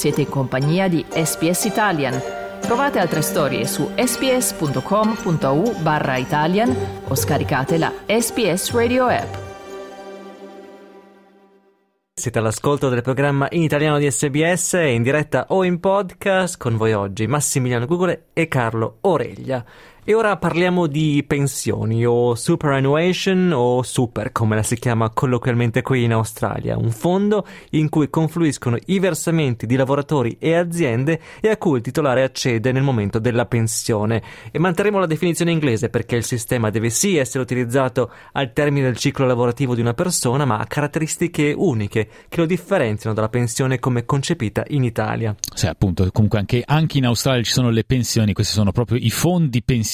Siete in compagnia di SBS Italian. Trovate altre storie su sbs.com.au/Italian o scaricate la SBS Radio app. Siete all'ascolto del programma in italiano di SBS, in diretta o in podcast. Con voi oggi Massimiliano Gugole e Carlo Oreglia. E ora parliamo di pensioni, o superannuation, o super come la si chiama colloquialmente qui in Australia, un fondo in cui confluiscono i versamenti di lavoratori e aziende e a cui il titolare accede nel momento della pensione. E manterremo la definizione inglese perché il sistema deve sì essere utilizzato al termine del ciclo lavorativo di una persona, ma ha caratteristiche uniche che lo differenziano dalla pensione come concepita in Italia. Sì, appunto, comunque anche in Australia ci sono le pensioni, questi sono proprio i fondi pensionistici.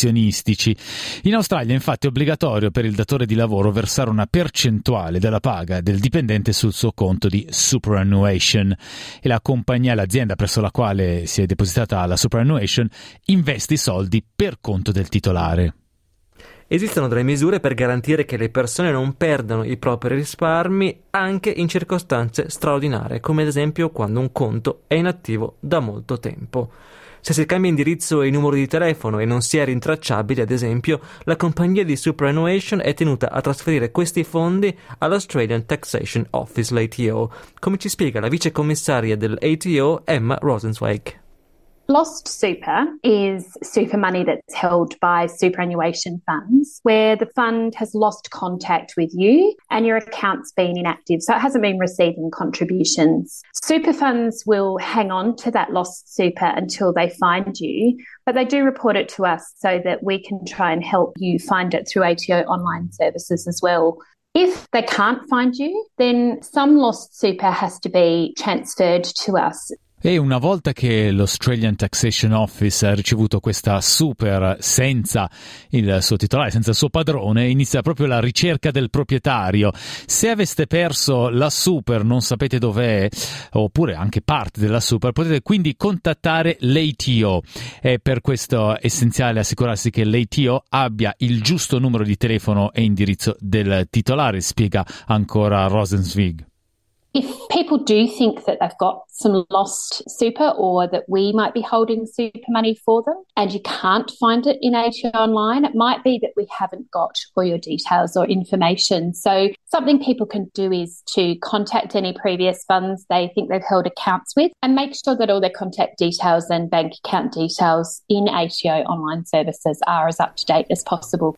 In Australia infatti è obbligatorio per il datore di lavoro versare una percentuale della paga del dipendente sul suo conto di superannuation e la compagnia, l'azienda presso la quale si è depositata la superannuation, investe i soldi per conto del titolare. Esistono delle misure per garantire che le persone non perdano i propri risparmi anche in circostanze straordinarie, come ad esempio quando un conto è inattivo da molto tempo. Se si cambia indirizzo e numero di telefono e non si è rintracciabili, ad esempio, la compagnia di superannuation è tenuta a trasferire questi fondi all'Australian Taxation Office, l'ATO, come ci spiega la vicecommissaria dell'ATO, Emma Rosenzweig. Lost super is super money that's held by superannuation funds where the fund has lost contact with you and your account's been inactive, so it hasn't been receiving contributions. Super funds will hang on to that lost super until they find you, but they do report it to us so that we can try and help you find it through ATO online services as well. If they can't find you, then some lost super has to be transferred to us. E una volta che l'Australian Taxation Office ha ricevuto questa super senza il suo titolare, senza il suo padrone, inizia proprio la ricerca del proprietario. Se aveste perso la super, non sapete dov'è, oppure anche parte della super, potete quindi contattare l'ATO. E per questo è essenziale assicurarsi che l'ATO abbia il giusto numero di telefono e indirizzo del titolare, spiega ancora Rosenzweig. If people do think that they've got some lost super or that we might be holding super money for them and you can't find it in ATO online, it might be that we haven't got all your details or information. So something people can do is to contact any previous funds they think they've held accounts with and make sure that all their contact details and bank account details in ATO online services are as up to date as possible.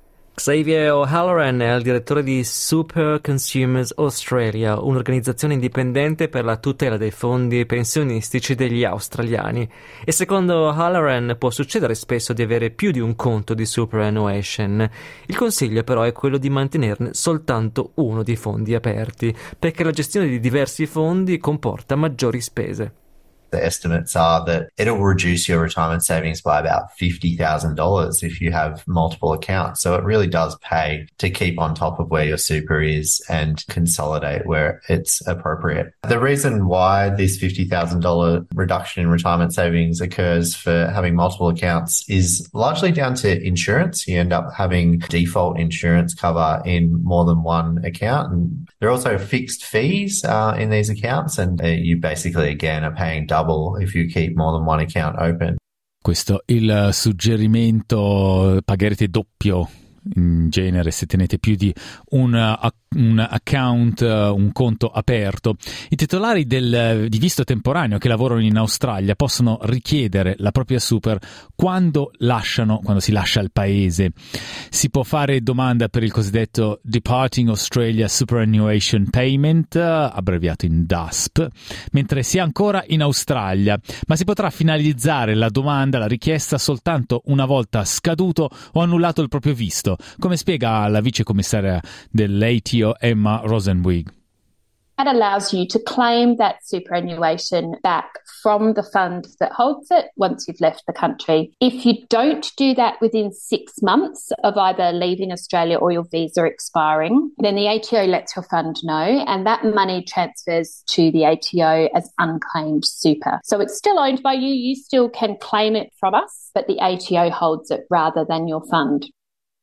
Xavier O'Halloran è il direttore di Super Consumers Australia, un'organizzazione indipendente per la tutela dei fondi pensionistici degli australiani. E secondo O'Halloran può succedere spesso di avere più di un conto di superannuation. Il consiglio però è quello di mantenerne soltanto uno di fondi aperti, perché la gestione di diversi fondi comporta maggiori spese. The estimates are that it'll reduce your retirement savings by about $50,000 if you have multiple accounts. So it really does pay to keep on top of where your super is and consolidate where it's appropriate. The reason why this $50,000 reduction in retirement savings occurs for having multiple accounts is largely down to insurance. You end up having default insurance cover in more than one account. And there are also fixed fees in these accounts, and you basically, again, are paying double if you keep more than one account open. Questo il suggerimento: pagherete doppio in genere se tenete più di un account, un conto aperto. I titolari di visto temporaneo che lavorano in Australia possono richiedere la propria super quando si lascia il paese. Si può fare domanda per il cosiddetto Departing Australia Superannuation Payment, abbreviato in DASP, mentre si è ancora in Australia, ma si potrà finalizzare la domanda, la richiesta, soltanto una volta scaduto o annullato il proprio visto, come spiega la vicecommissaria dell'ATO Emma Rosenzweig. That allows you to claim that superannuation back from the fund that holds it once you've left the country. If you don't do that within 6 months of either leaving Australia or your visa expiring, then the ATO lets your fund know and that money transfers to the ATO as unclaimed super. So it's still owned by you, you still can claim it from us, but the ATO holds it rather than your fund.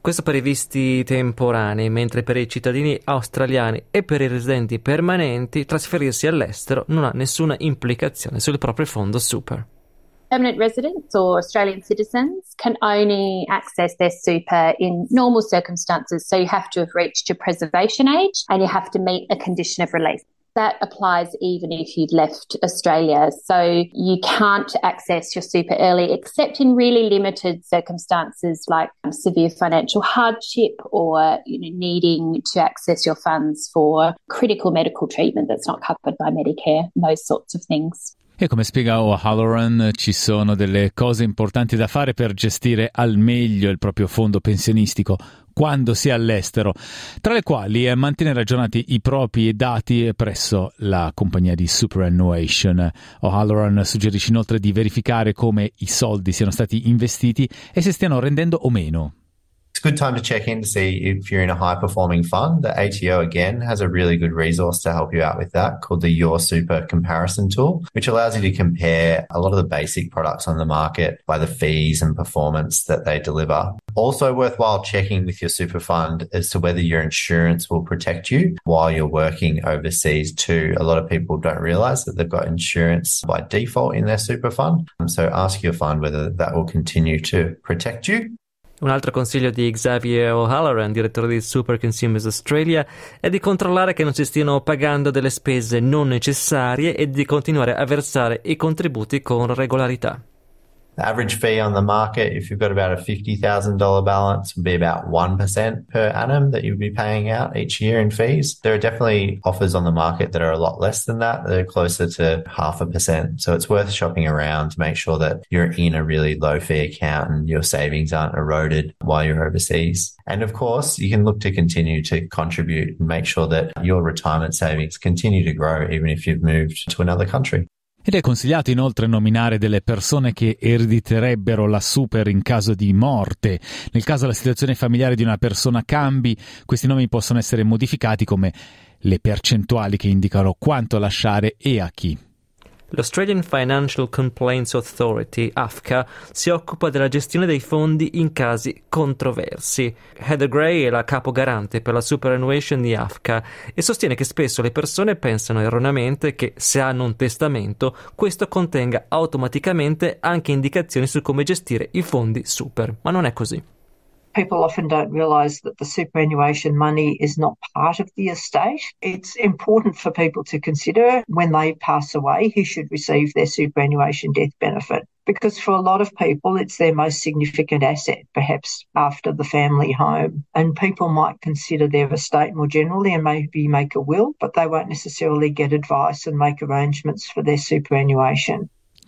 Questo per i visti temporanei, mentre per i cittadini australiani e per i residenti permanenti trasferirsi all'estero non ha nessuna implicazione sul proprio fondo super. Permanent residents or Australian citizens can only access their super in normal circumstances. So you have to have reached your preservation age and you have to meet a condition of release. That applies even if you've left Australia. So you can't access your super early except in really limited circumstances like severe financial hardship or needing to access your funds for critical medical treatment that's not covered by Medicare, those sorts of things. E come spiega O'Halloran, ci sono delle cose importanti da fare per gestire al meglio il proprio fondo pensionistico quando si è all'estero, tra le quali mantenere aggiornati i propri dati presso la compagnia di superannuation. O'Halloran suggerisce inoltre di verificare come i soldi siano stati investiti e se stiano rendendo o meno. It's a good time to check in to see if you're in a high-performing fund. The ATO, again, has a really good resource to help you out with that called the Your Super Comparison Tool, which allows you to compare a lot of the basic products on the market by the fees and performance that they deliver. Also worthwhile checking with your super fund as to whether your insurance will protect you while you're working overseas too. A lot of people don't realize that they've got insurance by default in their super fund. So ask your fund whether that will continue to protect you. Un altro consiglio di Xavier O'Halloran, direttore di Super Consumers Australia, è di controllare che non si stiano pagando delle spese non necessarie e di continuare a versare i contributi con regolarità. The average fee on the market, if you've got about a $50,000 balance, would be about 1% per annum that you'd be paying out each year in fees. There are definitely offers on the market that are a lot less than that. They're closer to 0.5%. So it's worth shopping around to make sure that you're in a really low fee account and your savings aren't eroded while you're overseas. And of course, you can look to continue to contribute and make sure that your retirement savings continue to grow even if you've moved to another country. Ed è consigliato inoltre nominare delle persone che erediterebbero la super in caso di morte. Nel caso la situazione familiare di una persona cambi, questi nomi possono essere modificati come le percentuali che indicano quanto lasciare e a chi. L'Australian Financial Complaints Authority, AFCA, si occupa della gestione dei fondi in casi controversi. Heather Gray è la capo garante per la superannuation di AFCA e sostiene che spesso le persone pensano erroneamente che se hanno un testamento questo contenga automaticamente anche indicazioni su come gestire i fondi super, ma non è così. People often don't realise that the superannuation money is not part of the estate. It's important for people to consider when they pass away who should receive their superannuation death benefit. Because for a lot of people, it's their most significant asset, perhaps after the family home. And people might consider their estate more generally and maybe make a will, but they won't necessarily get advice and make arrangements for their superannuation.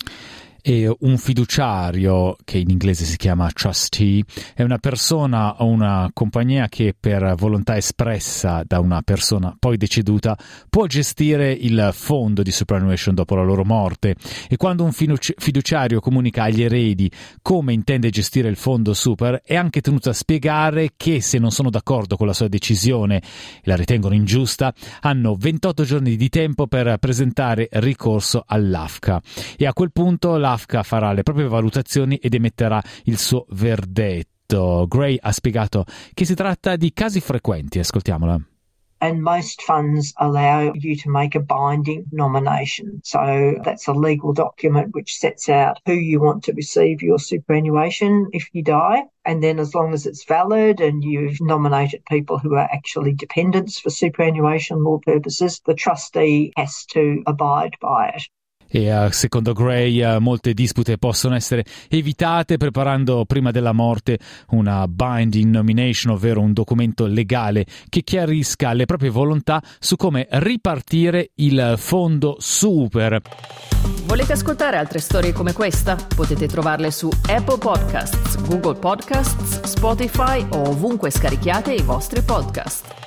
E un fiduciario, che in inglese si chiama trustee, è una persona o una compagnia che per volontà espressa da una persona poi deceduta può gestire il fondo di superannuation dopo la loro morte, e quando un fiduciario comunica agli eredi come intende gestire il fondo super è anche tenuto a spiegare che se non sono d'accordo con la sua decisione e la ritengono ingiusta hanno 28 giorni di tempo per presentare ricorso all'AFCA, e a quel punto l'AFCA farà le proprie valutazioni ed emetterà il suo verdetto. Gray ha spiegato che si tratta di casi frequenti, ascoltiamola. And most funds allow you to make a binding nomination. So that's a legal document which sets out who you want to receive your superannuation if you die. And then as long as it's valid and you've nominated people who are actually dependents for superannuation law purposes, the trustee has to abide by it. E secondo Gray molte dispute possono essere evitate preparando prima della morte una binding nomination, ovvero un documento legale che chiarisca le proprie volontà su come ripartire il fondo super. Volete ascoltare altre storie come questa? Potete trovarle su Apple Podcasts, Google Podcasts, Spotify o ovunque scarichiate i vostri podcast.